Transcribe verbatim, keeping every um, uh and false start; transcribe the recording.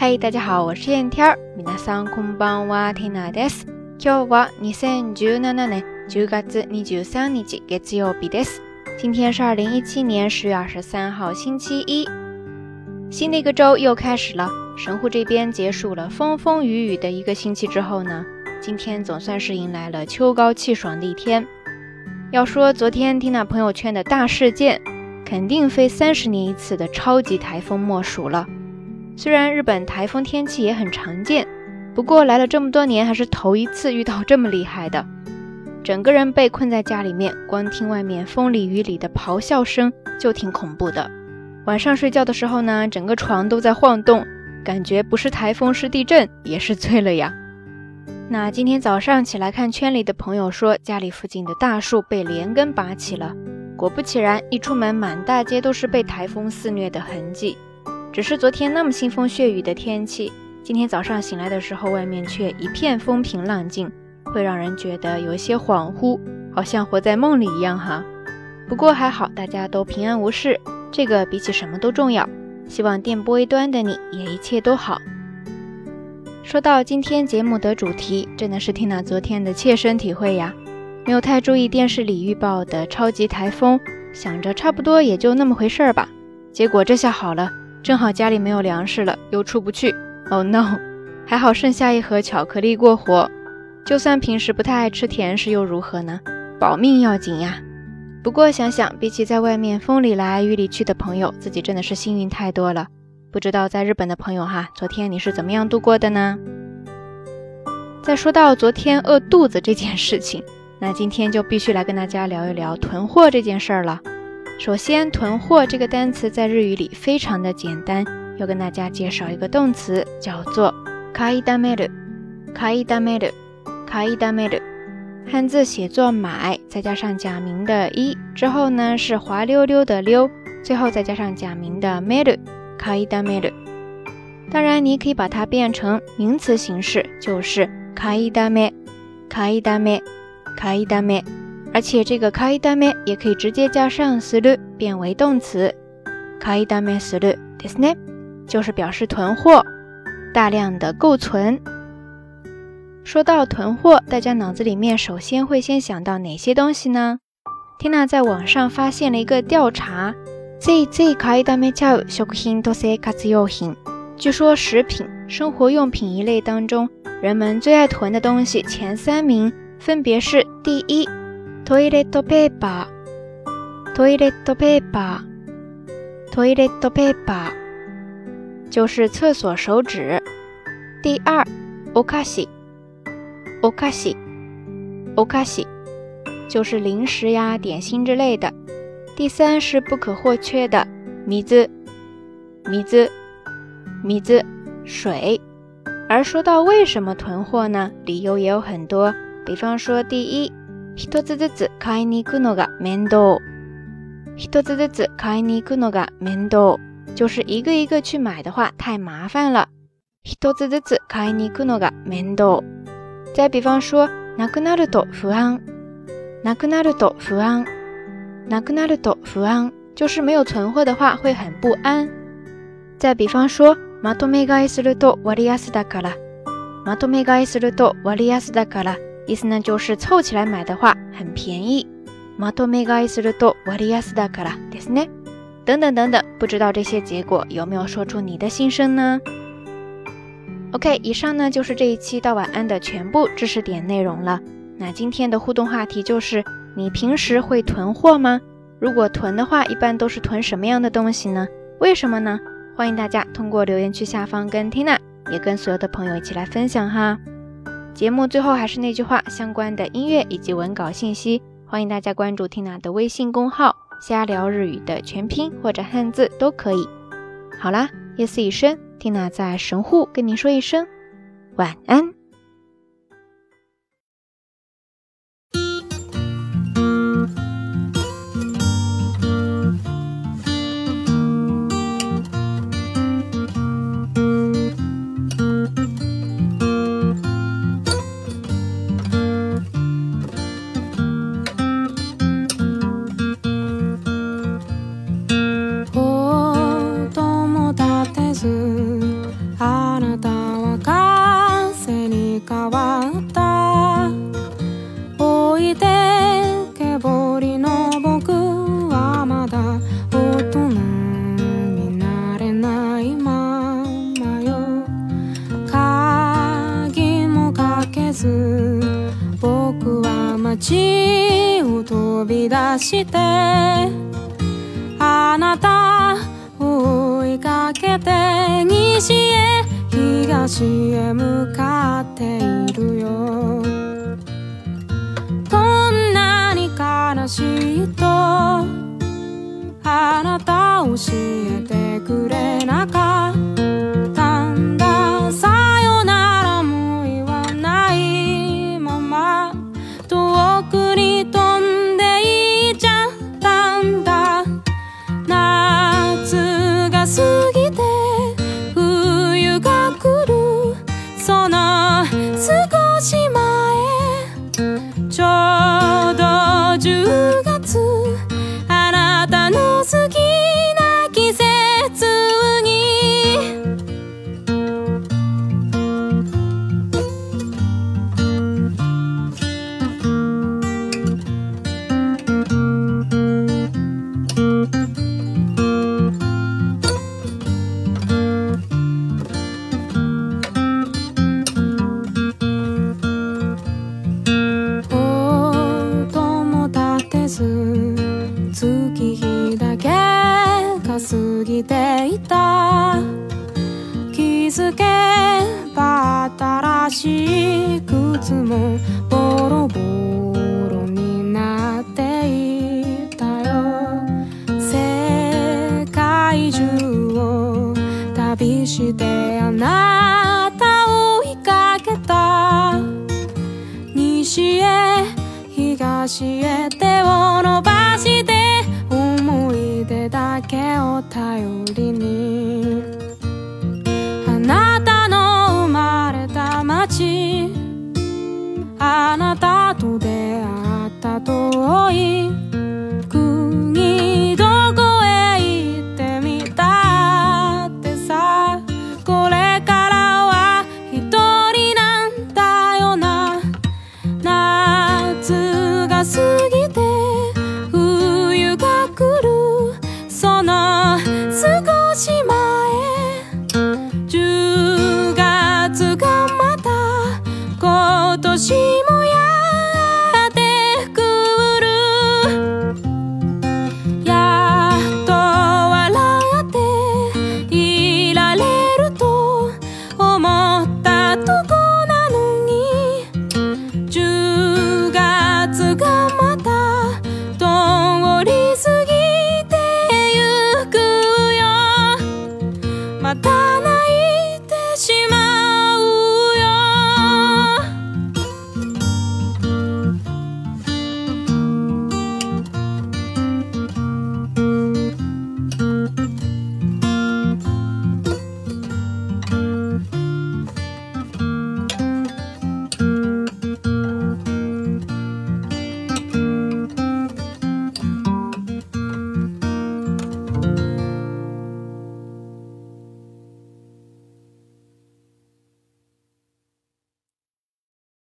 嗨，大家好，我是燕天儿。皆さんこんばんは、ティナです。今日はにせんじゅうななねんじゅうがつにじゅうさんにち月曜日です。今天是二零一七年十月二十三号星期一。新的一个周又开始了，神户这边结束了风风雨雨的一个星期之后呢，今天总算是迎来了秋高气爽的一天。要说昨天听那朋友圈的大事件，肯定非三十年一次的超级台风莫属了。虽然日本台风天气也很常见，不过来了这么多年还是头一次遇到这么厉害的。整个人被困在家里面，光听外面风里雨里的咆哮声就挺恐怖的。晚上睡觉的时候呢，整个床都在晃动，感觉不是台风是地震也是醉了呀。那今天早上起来看圈里的朋友说，家里附近的大树被连根拔起了，果不其然，一出门满大街都是被台风肆虐的痕迹。只是昨天那么腥风血雨的天气，今天早上醒来的时候，外面却一片风平浪静，会让人觉得有些恍惚，好像活在梦里一样哈。不过还好大家都平安无事，这个比起什么都重要。希望电波一端的你也一切都好。说到今天节目的主题，真的是听了昨天的切身体会呀。没有太注意电视里预报的超级台风，想着差不多也就那么回事儿吧，结果这下好了，正好家里没有粮食了，又出不去。 Oh no， 还好剩下一盒巧克力过活，就算平时不太爱吃甜食又如何呢？保命要紧呀。不过想想比起在外面风里来雨里去的朋友，自己真的是幸运太多了。不知道在日本的朋友哈，昨天你是怎么样度过的呢？再说到昨天饿肚子这件事情，那今天就必须来跟大家聊一聊囤货这件事儿了。首先，囤货这个单词在日语里非常的简单，要跟大家介绍一个动词，叫做買いだめる。買いだめる。買いだめる。汉字写作买，再加上假名的一，之后呢是滑溜溜的溜，最后再加上假名的める。買いだめる。当然，你也可以把它变成名词形式，就是買いだめ。買いだめ。買いだめ。而且这个買いだめ也可以直接加上する变为动词。買いだめするですね，就是表示囤货，大量的购存。说到囤货，大家脑子里面首先会先想到哪些东西呢？ Tina 在网上发现了一个调查，ついつい買いだめちゃう食品と生活用品。据说食品、生活用品一类当中，人们最愛囤的东西前三名分别是：第一，トイレットペーパー。トイレットペーパー。トイレットペーパー就是厕所手纸。第二，お菓子。お菓子。お菓子就是零食呀、点心之类的。第三是不可或缺的水。水。水。水。而说到为什么囤货呢？理由也有很多。比方说，第一，一つずつ買いに行くのが面倒。一つずつ買いに行くのが面倒，就是一个一个去买的话太麻烦了。一つずつ買いに行くのが面倒。再比方说，なくなると不安。なくなると不安。なくなると不安，就是没有存货的话会很不安。再比方说，まとめ買いすると割安だから。まとめ買いすると割安だから。意思呢就是凑起来买的话很便宜。まとめ買いすると割安だからですね。等等等等，不知道这些结果有没有说出你的心声呢？ OK， 以上呢就是这一期到晚安的全部知识点内容了。那今天的互动话题就是，你平时会囤货吗？如果囤的话，一般都是囤什么样的东西呢？为什么呢？欢迎大家通过留言区下方跟 Tina 也跟所有的朋友一起来分享哈。节目最后还是那句话，相关的音乐以及文稿信息，欢迎大家关注 Tina 的微信公号，瞎聊日语的全拼或者汉字都可以。好啦，夜色已深， Tina 在神户跟你说一声晚安。 ずあ街を飛び出してあなたを追いかけて西へ東へ向かっているよ。どんなに悲しいとあなた教えてくれなかったんだ。さよならも言わないまま遠くに飛んでいっちゃったんだ。夏が過ぎて冬が来るその少し前ちょうどじゅうがつあなたの好きな季節に月日だけが過ぎていた。気づけば新しい靴もボロボロになっていたよ。世界中を旅してあなたを追いかけた。西へ東へ手を伸ばして思い出だけを頼りにあなたの生まれた街あなたと出会った遠い国どこへ行ってみたってさ。これからは一人なんだよな。夏が過ぎて冬が来るその少し前じゅうがつがまた今年も